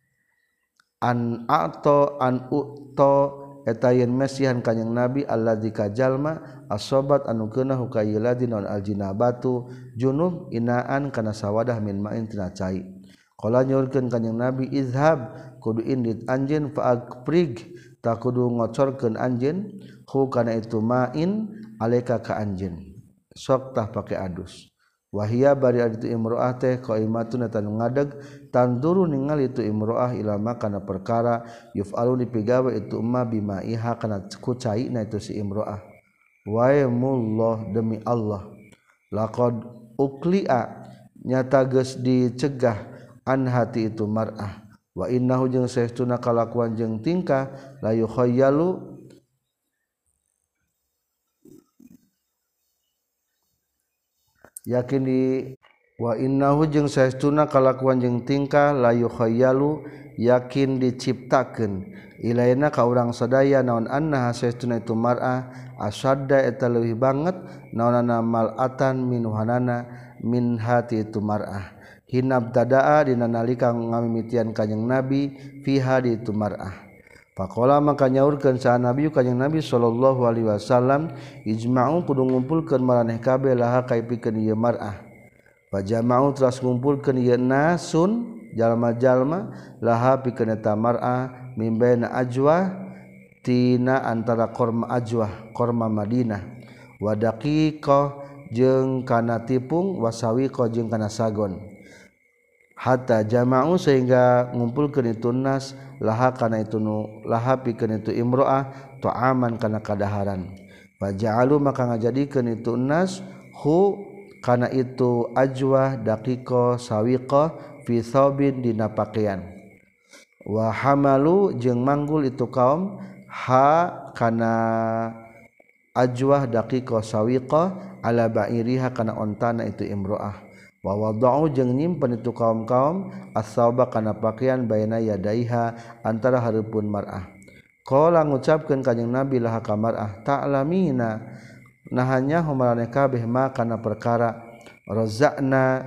an ato an uto eta yen mesihan kanjing Nabi alladzi ka jalma asobat anu keuna hukayiladi naon aljinabatu junub inaan kana sawadah min ma'in tina cai qala nyorkeun kanjing Nabi izhab kudu indit anjeun fa akprig ta kudu ngocorkeun anjeun hu kana itu ma'in alaika ka anjeun sok tah pake adus wahia bari itu imro'ah teh qaimatun eta nu ngadeg tanduru ningali itu imro'ah ilama kana perkara yuf'alu dipigawe itu umma bimaiha kana ku caina itu si imro'ah wa yamullah demi Allah laqad ukli'a nyata geus dicegah an hati itu mar'ah wa innahu jeung saestuna kalakuan jeung tingkah la yukhayyalu yakin di wa innahu jeung saestuna kalakuan jeung tingkah la yukhayyalu yakin diciptakeun ilaina ka urang sadaya naon anna saestuna itu mar'ah asadda eta leuwih banget naonana mal'atan minuhanana min hati itu mar'ah hinab tadaa dina nalika ngamimitian kanjing Nabi fiha di itu mar'ah faqala maka nyaurkeun sa Nabi kanjing Nabi sallallahu alaihi wasallam ijma'u kudu ngumpulkeun maraneh kabeh laha kaipikeun ieu mar'ah fajama'u teras ngumpulkeun ieu nasun jalma-jalma laha pikeun eta mar'ah mimbaina ajwah tina antara korma ajwah korma Madinah wa daqiqah jeung kana tipung wasawiqah jeung kana sagon hatta jama'u sehingga ngumpulkeun itu nas laha kana itu nu laha pikeun itu imro'ah ta'aman kana kadaharan faja'alu maka ngajadikeun itu nas hu kana itu ajwah daqiqah sawiqah fi thawbin dina pakaian wa hamalu jeung manggul itu kaum ha kana ajwah daqiqah sawiqah ala ba'iriha kana ontana itu imro'ah wa wada'u jeung nyimpen itu kaum-kaum as-sawba kana pakaian baina yadaiha antara hareupeun mar'ah qala ngucapkeun kanjing Nabi laha ka mar'ah ta'lamina nahanya humarane kabeh ma kana perkara rozakna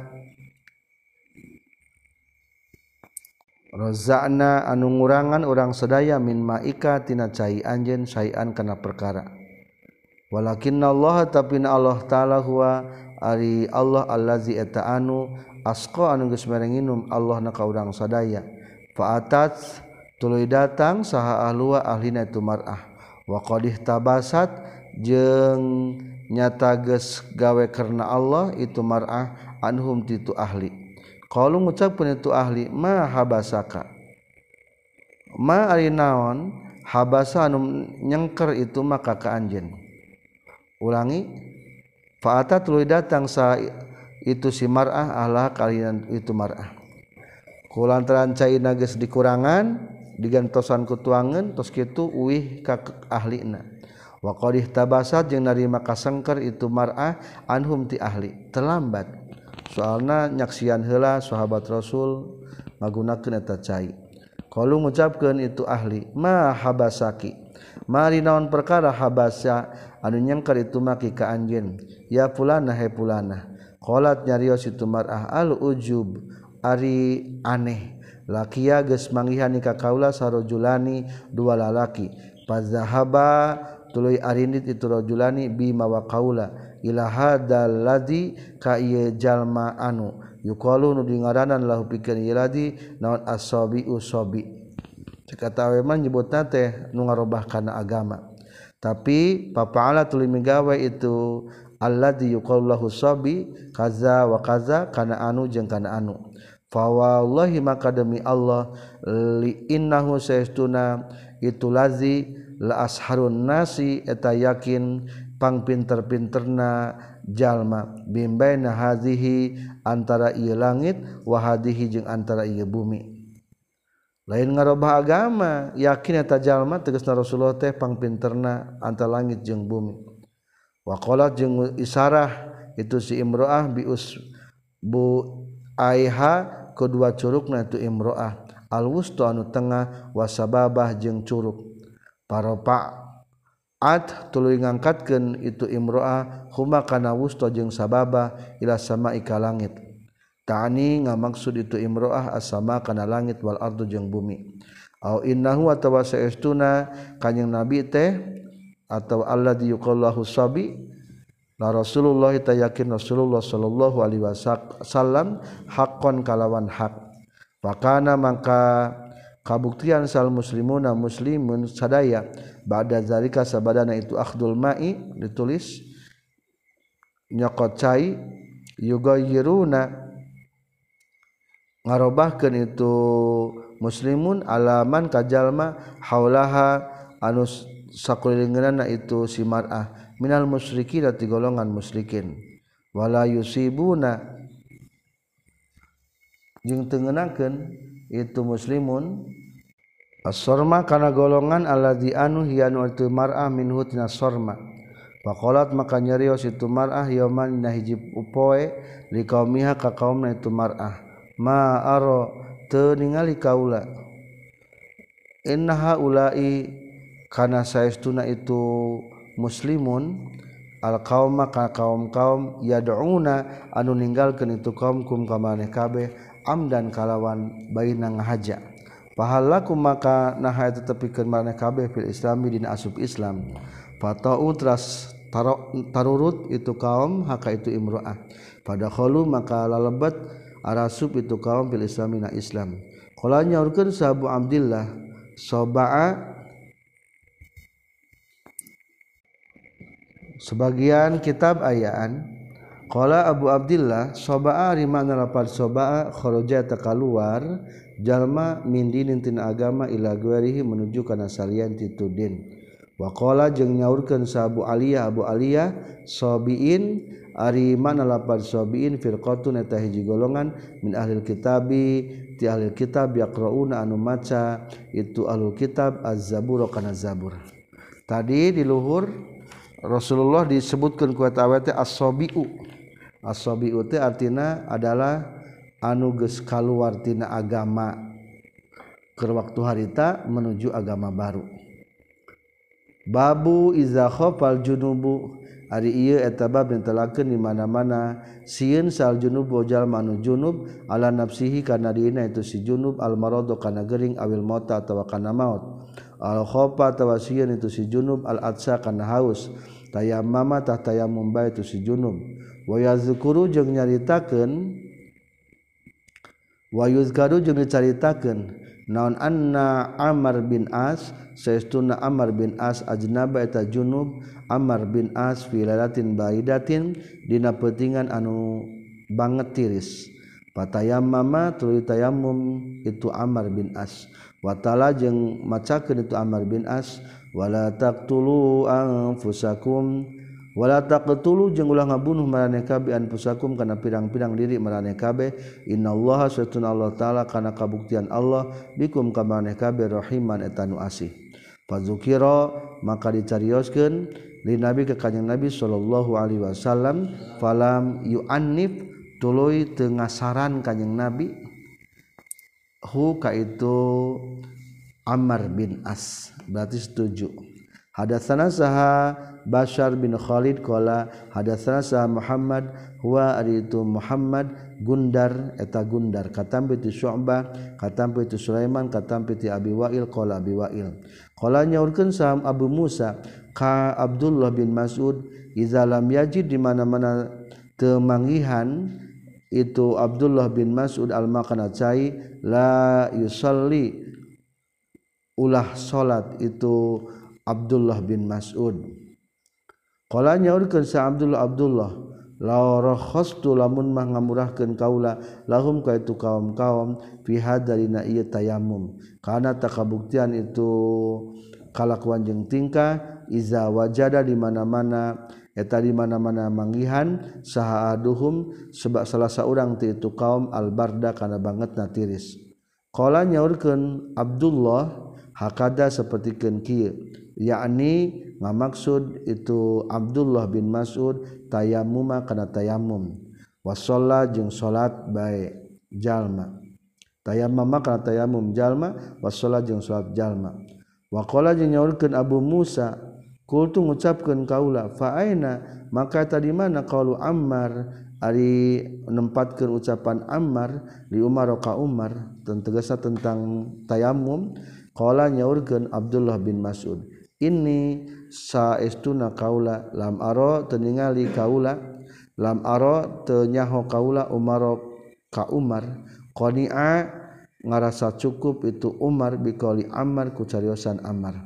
rozakna anu ngurangan urang sadaya min maika tina cai anjeun sayan kana perkara walakinna Allah tapina Allah taala huwa ari Allah allazi eta anu asqa anu geus mere nginum Allah na ka urang sadaya faatat tuluy datang saha ahlua ahlina itu mar'ah wa qadih tabasat jeung nyata geus gawe karena Allah itu mar'ah anhum titu ahli qalu ngucapkeun itu ahli ma habasaka ma ari naon habasa anu nyengker itu maka ka anjeun ulangi fa'ata tuluy datang sa itu si mar'ah ahlah kalian itu mar'ah kulantaran caina geus dikurangan digantosan ku tuangeun tos kitu uih ka ahlina wa qadih tabasat jeung narima kasengker itu mar'ah anhum ti ahli terlambat soalna nyaksian heula sahabat Rasul magunakeun eta cai qalu ngucapkeun itu ahli ma habasaki mari naon perkara habasa anu nyengker itu maki ka anjeun ya fulana he fulana qalat nyarios itu mar'ah al ujub ari aneh lakiya geus manggihan ka kaula sarojulani dua lalaki fazahaba tuluy arindit itu rajulani bima wa kaula ila hadzal ladzi ka ieu jalma anu yuqalu nu dingaranan lahu pikeun ieu ladzi naon asabi usabi cikatawe mah nyebutna teh nu ngarobah kana agama tapi papa'ala tuluy migawe itu alladzi yuqalu lahu sabi kaza wa kaza kana anu jeung kana anu fa wallahi maka demi Allah li innahu saestuna itu lazi la asharun nasi eta yakin pang pinter-pinterna jalma bimbaina hadhihi antara ieu langit wa hadhihi jeung antara ieu bumi lain ngarobah agama yakin eta jalma tegasna Rasulullah teh pang pinterna antara langit jeung bumi wa qalat jeung isarah itu si imro'ah bius bu aiha kedua curugna itu imro'ah al-wusta anu tengah wasababah jeung curug paropaat tuluy ngangkatkeun itu imro'ah huma kana wusta jeung sababah ila sama'i ka langit ta'ani ngamaksud itu imro'ah as-sama kana langit wal ardu jeung bumi au innahu atawa saestuna kanjing nabi teh atau alladzi yuqallahu sabi la Rasulullah ta yakin Rasulullah sallallahu alaihi wasallam haqqan kalawan hak fakana maka kabuktian sal muslimuna muslimun sadaya ba'da zalika sabadana itu akhdul ma'i ditulis nyokot cai yugayyiruna ngarobahkeun itu muslimun alaman kajalma haulaha anu sakulingeunna itu si mar'ah minal musyrikin dari golongan musyrikin wala yusibuna jeung teu ngeunakeun itu muslimun as-sarma kana golongan alladzi anu hiyanu itu mar'ah minhu tina sarma faqalat maka nyarios itu mar'ah yauman dina hiji upoe liqaumiha ka kaumna itu mar'ah ma aro teu ningali kaula innaha ulai kana saestuna itu muslimun al qauma ka kaum-kaum yad'una anu ninggalkeun itu kaum kum ka maneh kabeh amdan kalawan baina ngahaja pahalakum maka naha eta tepikeun maneh kabeh fil islami dina asup Islam fatau tras tarurut itu kaum haka itu imro'ah pada khalu maka lalebet arasup itu kaum fil islami na Islam qala nyaurkeun sahabu Abdillah Soba'a sebagian kitab ayaan qala Abu Abdillah soba'a rimana lapad soba'a kharaja ta kaluar jalma min dinin tina agama ila ghairihi menuju kana salian ti din. Wa qala jeung nyaurkeun sa Abu Aliyah Abu Aliyah sabiin ari mana lapad sabiin firqatun eta hiji golongan min ahlil kitabi ti ahlil kitab yaqrauna anu maca itu ahlul kitab az-zabur kana zabur. Tadi di luhur Rasulullah disebutkeun ku eta awet as-sabiu. As-sabiu teh artina adalah anu geus kaluar tina agama keur waktu harita menuju agama baru. Babu iza khafal junubu ari ieu eta bab netelakeun di mana-mana sieun sal junub bojal manu junub ala nafsihi kana dina itu si junub al maradu kana gering awil mauta atawa kana maut al khafa atawa sieun itu si junub al atsa kana haus tayammama tah tayammum bae itu si junub wa yazkuru jeung nyaritakeun wa yuzkaru jeung dicaritakeun naon anna Amr bin As saestuna Amr bin As ajnaba eta junub Amr bin As fi lailatin baidatin dina peutingan anu banget tiris patayammama tuluy tayammum itu Amr bin As wa ta'ala jeung macakeun itu Amr bin As wala taqtulu anfusakum wala taqtulu jeung ulah ngabunuh maraneh kabeh anfusakum kana pirang-pirang diri maraneh kabeh innallaha satuna Allah taala kana kabuktian Allah bikum ka maraneh kabeh rahiman eta nu asih fazukira maka dicarioskeun li nabi ka kanjing nabi sallallahu alaihi wasallam falam yu'annif tuluy teu ngasaran kanjing nabi hu ka itu Ammar bin As berarti setuju. Hadatsana saha Bashar bin Khalid qala hadatsana saha Muhammad huwa aritu Muhammad Gundar eta Gundar katampi ti Syu'bah katampi ti Sulaiman katampi ti Abi Wa'il qala Abi Wa'il qala nyaurkeun saha Abu Musa ka Abdullah bin Mas'ud iza lam yajid di mana-mana teu manggihan itu Abdullah bin Mas'ud al-makana cai la yusalli ulah salat itu Abdullah bin Mas'ud qala nyaurkeun sa Abdullah Abdullah la rakhastu lamun mah ngamurahkeun kaula lahum ka itu kaum-kaum fi hadarina ieu tayammum kana takabuktian itu kalakuan jeung tingkah iza wajada di mana-mana eta di mana-mana manggihan saha aduhum sebab salah saurang ti itu kaum al-barda kana bangetna tiris qala nyaurkeun Abdullah hakada sapertikeun kieu yakni ngamaksud itu Abdullah bin Mas'ud tayammuma kana tayammum wa shalla jeung salat bae jalma tayammuma kana tayammum jalma wa shalla jeung salat jalma wa qala jeung nyaurkeun Abu Musa kultu ngucapkeun kaula fa aina maka tadi mana qaulu Ammar ari nempatkeun ucapan Ammar li Umar ka Umar tegasna tentang tayammum qala nyaurkeun Abdullah bin Mas'ud ini saestuna kaula lam aro teu ningali kaula lam aro teu nyaho kaula Umar ka Umar qani'a ngarasa cukup itu Umar biqauli Ammar ku cariosan Ammar.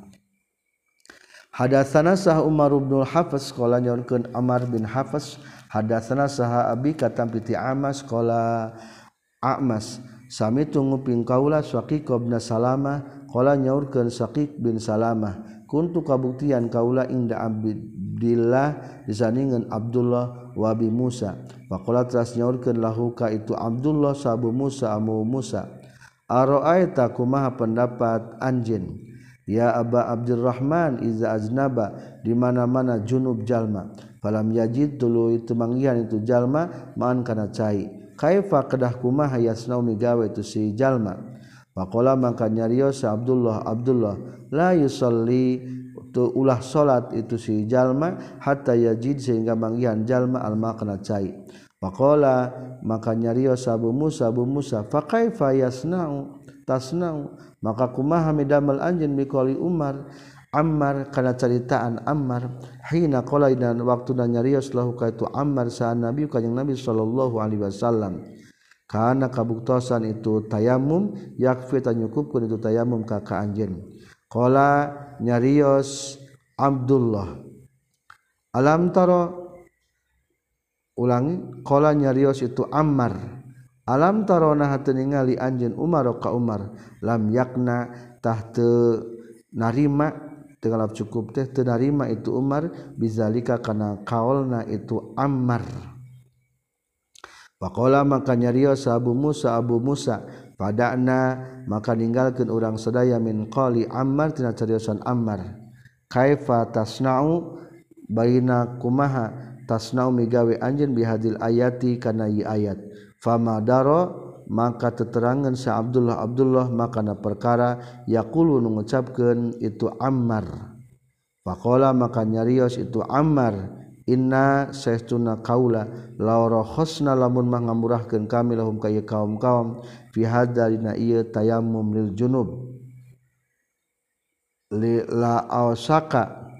Hadatsana sah Umar bin Hafs qala nyaurkeun Ammar bin Hafs hadatsana saha abi katampi ti Amas qala Amas sami tunguping kaula Syaqiq bin Salamah qala nyaurkeun Syaqiq bin Salamah kuntu kabuktian kaula inda Abdillah disandingan Abdullah wa Abi Musa faqala teras nyaurkeun lahu ka itu Abdullah sabu Musa amu Musa ara'aita kumaha pendapat anjeun ya Aba Abdurrahman iza aznaba di mana-mana junub jalma falam yajid tuluy teu manggihan itu jalma maan kana cai kaifa kedah kumaha yasnau migawe itu si jalma faqala maka nyarios Abdullah Abdullah la yusalli tu ulah salat itu si jalma hatta yajid sehingga manggihan jalma al makna cai faqala maka nyarios Abu Musa Abu Musa fa kaifa yasnau tasnau maka kumaha midamal anjeun biqauli Umar Ammar kana caritaan Ammar hina qala dan waktuna nyarios lahu ka itu Ammar sa Nabi kanjing Nabi sallallahu alaihi wasallam kana kabuktosan itu tayamum yakfi tanyukupkeun itu tayamum ka ka anjeun. Qala nyarios Abdullah alam taro ulangi qala nyarios itu Ammar alam taro nah teu ningali anjeun Umar ka Umar lam yakna tah teu narima teu ngalap cukup teh teu narima itu Umar bizalika kana kaulna itu Ammar. Faqala maka nyarios Abu Musa Abu Musa padana maka ninggalkeun urang sadaya min qali Ammar tina cariosan Ammar kaifa tasna'u baina kumaha tasna'u migawe anjeun bihadil ayati kana ieu ayat fama daro maka teterangan sa Abdullah Abdullah makana perkara yaqulu nu ngucapkeun itu Ammar. Faqala maka nyarios itu Ammar inna saestuna kaula law rakhasna lamun mah ngamurahkeun kami lahum ka ieu kaum-kaum fi hadzalina ieu tayammum lil junub li la ausaka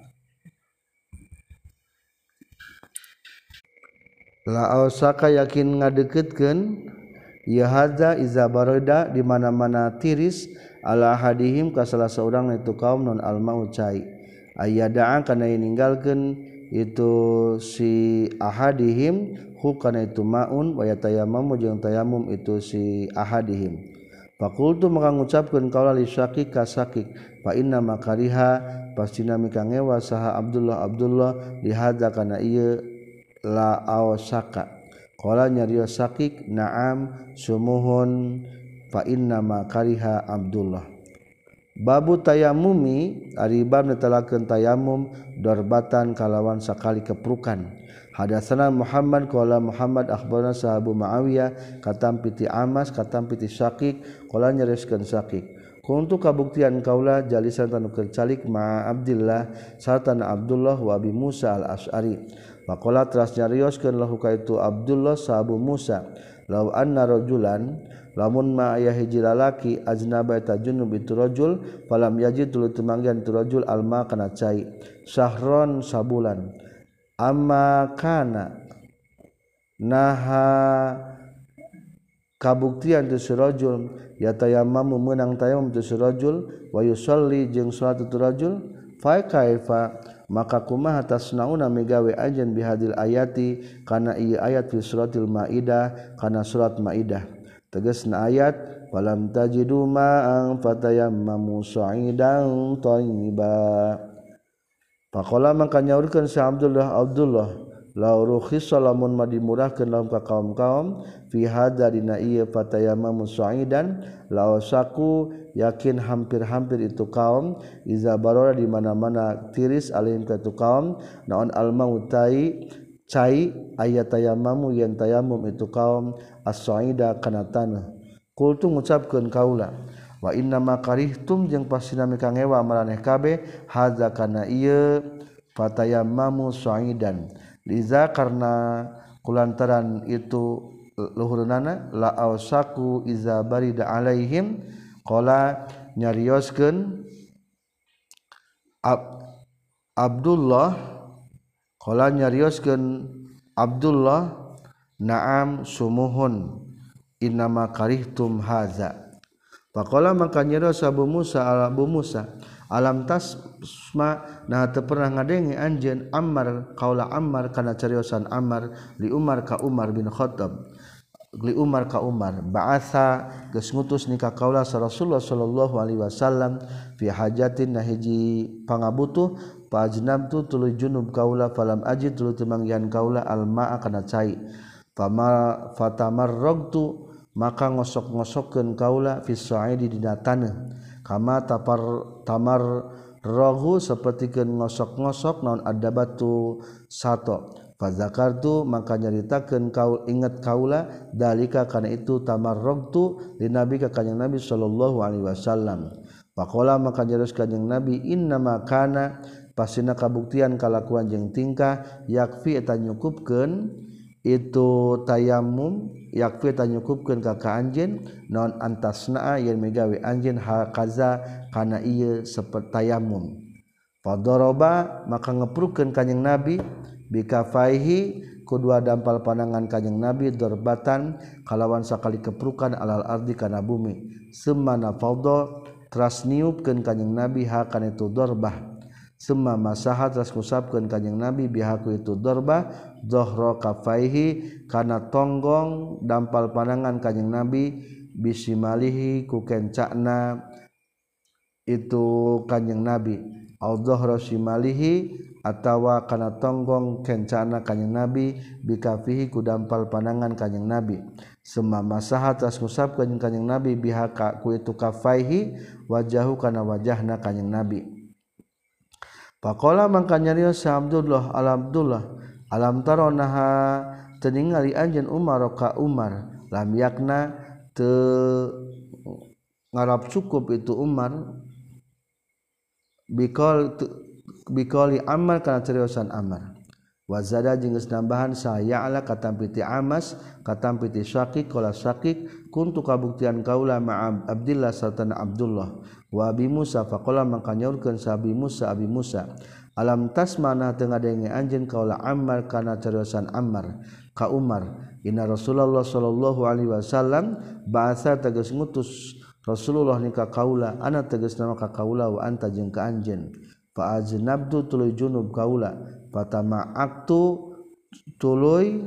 la ausaka yakin ngadeukeutkeun ieu hadza iza barada di mana-mana tiris ala hadihim ka salah seorang itu kaum non almau cai ayada'a kana ninggalkeun itu si ahadihim hu kana itu maun wa yatayammamu jeung tayamum itu si ahadihim. Faqultu maka ngucapkeun qaula li Syakik ka Syakik fa inna makariha pastina mika ngewa saha Abdullah Abdullah li hadza kana ieu la awsaka qala nyarios Syakik na'am sumuhun fa inna makariha Abdullah. Babu tayamumi ari bab netelakeun tayamum darbatan kalawan sakali keprukan. Hadatsana Muhammad qala Muhammad akhbarana sahabu Muawiyah katam piti Amas katam piti Syakik qala nyereskeun Syakik kuntu kabuktian kaula jalisan tanu keur calik ma Abdillah sarta Abdullah wa Abi Musa al-Asy'ari faqala teras nyarioskeun lahu ka itu Abdullah sahabu Musa law anna rajulan lamun ma aya hiji lalaki ajnaba ta junub itu rajul falam yajid tuluy temanggihan itu rajul alma kana cai syahron sabulan amma kana naha kabuktian tu surajul yatayammamu meunang tayamum tu surajul wa yusalli jeung salat tu rajul fa kaifa maka kumaha tasnauna migawe anjeun bihadil ayati kana ieu ayat fi suratil maidah kana surat maidah tegasna ayat falam tajidu ma'an fatayammamu sa'idan thayyiba faqala maka nyaurkeun sa Abdullah Abdullah la rukhisa lamun ma dimurahkeun lamun ka kaum-kaum fi hadza dina ieu fatayammamu sa'idan la wasaku yakin hampir-hampir itu kaum iza barora di mana-mana tiris alim ka itu kaum naon al mautai cai ayat tayammamu yen tayamum itu kaum as-sa'ida kana tanah qultu ngucapkeun kaula wa inna ma karihtum jeung pasina mika ngewa maraneh kabeh hadza kana ieu fatayammamu sa'idan liza karna kulantaran itu luhurna la ausaku iza barida alaihim qala nyarioskeun Ab, Abdullah qala nyarioskeun Abdullah na'am sumuhun innama karihtum haza faqala maka nyarios Abu Musa ala Abu Musa alam tasma nah teu pernah ngadenge anjeun Ammar qaula Ammar kana cariosan Ammar li Umar ka Umar bin Khattab li Umar ka Umar ba'atha geus ngutus nikah kaula sa Rasulullah sallallahu alaihi wasallam fi hajatin na hiji pangabutuh fa ajnabtu tuluy junub kaula falam ajid tuluy temanggihan kaula almaa kana cai fama fatamarragtu maka ngosok-ngosokkeun kaula fi sa'idi dina taneuh kama tapar tamar rahu sapertikeun ngosok-ngosok naon adabatu sato fa zakartu maka nyaritakeun kaul inget kaula dalika kana itu tamarragtu li nabi ka kanjing nabi sallallahu alaihi wasallam faqala maka nyaros kanjing nabi innama kana pasina kabuktian kalakuan jeung tingkah yakfi eta nyukupkeun itu tayamum yakfi eta nyukupkeun ka ka anjeun naon antasna yen megawe anjeun hakaza kana ieu saperti tayamum fadoroba maka ngeprukeun kanjing nabi bikafaihi kedua dampal panangan kanjing Nabi dorbatan kalawan sakali keprukan alal ardi kana bumi semana fadha teras niupkeun kanjing Nabi ha kana itu dorbah semma masaha teras kusapkeun kanjing Nabi bihaku itu dorbah dhahra kafaihi kana tonggong dampal panangan kanjing Nabi bisimalihi ku kencana itu kanjing Nabi au dhahra simalihi atawa kana tonggong kencana kanjing Nabi bikafihi ku dampal panangan kanjing Nabi semma masaha tas ngusapkeun kanjing Nabi bihaka ku itu kafaihi wajahu kana wajahna kanjing Nabi faqala mangka nyarios sa Abdullah al Abdullah alam taronaha teu ningali anjeun Umar ka Umar lam yakna teu ngarap cukup itu Umar bikol bikoli Ammar kana ceriosan Ammar wazada jeung geus nambahan saya ala katampiti Amas katampiti Syakik qala Syakik kuntu kabuktian kaula ma Abdillah sarta Abdullah wa Abi Musa faqala mangka nyaurkeun sa Abi Musa Abi Musa alam tasmana teu ngadenge anjeun kaula Ammar kana ceriosan Ammar ka Umar inna Rasulullah sallallahu alaihi wasallam ba'atsa tegas ngutus Rasulullah ni ka kaula ana tegasna ka kaula wa anta jeung ka anjeun fa aznabtu tuluy junub kaula fatama'aktu tuluy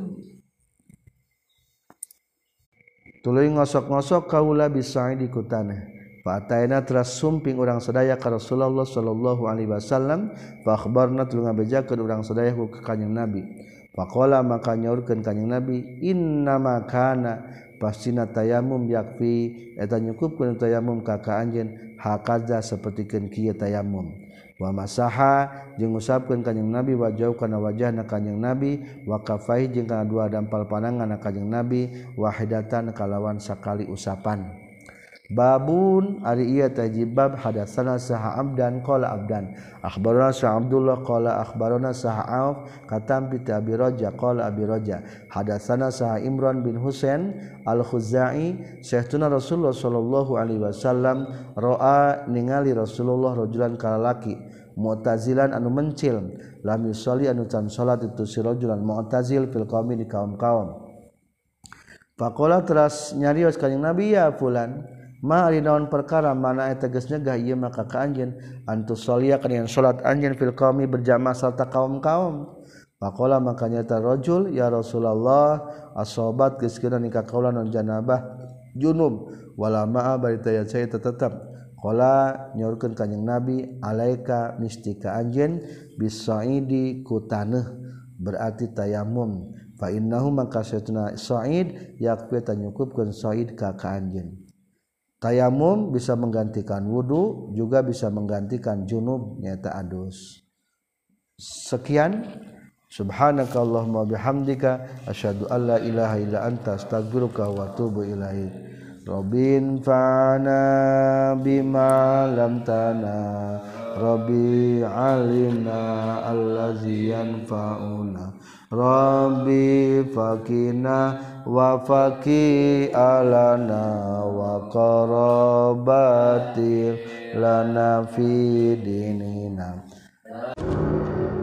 tuluy ngosok-ngosok kaula bisaidi ku tanah fa ataina teras sumping urang sadaya ka Rasulullah sallallahu alaihi wasallam fa akhbarna tuluy ngabejakeun urang sadaya ku kanjing Nabi faqala maka nyaurkeun kanjing Nabi innama kana pastina tayamum yakfi eta nyukupkeun tayamum ka ka anjeun hakaza sapertikeun kieu tayamum wa masaha jeung ngusapkeun kanjing Nabi wajah kana wajahna kanjing Nabi wa kafai jeung kana dua dampal panangan kanjing Nabi wahidatan kalawan sakali usapan babun ari ieu tajibab hadatsana saha abdan qala abdan akhbarana sa Abdullah qala akhbarana saha Auf katam bi Abi Raja qala Abi Raja hadatsana saha Imran bin Husain al-Khuzai sayyiduna Rasulullah sallallahu alaihi wasallam ra'a ningali Rasulullah rajulan kalalaki mu'tazilan anu mencil lam yusalli anu tan salat itu si rajulan mu'tazil fil qaumi di kaum-kaum faqala teras nyarios kanjing Nabi ya fulan ma ari naon perkara mana eta geus nyegah ieu maka ka anjeun antus sholia kana salat anjeun fil qaumi berjamaah sarta kaum-kaum faqala maka nyata rajul ya Rasulullah asobat geus kena nikah kaula non janabah junub wala ma'a bari taya saya tetep qala nyaurkeun kanjing Nabi alaika mistika anjeun bisaidi ku taneuh berarti tayamum fa innahu maka satuna sa'id yakfi tanyukupkeun sa'id ka ka anjeun tayamum bisa menggantikan wudu juga bisa menggantikan junub nyata adus. Sekian subhanakallahumma bihamdika asyhadu an la ilaha illa anta astaghfiruka wa atubu ilaik. Rabbin fa'ana bima lam tana Rabbi alimna allazi yanfa'una Rabbi fakina wa faqi alana wa qarabati lana fi dinina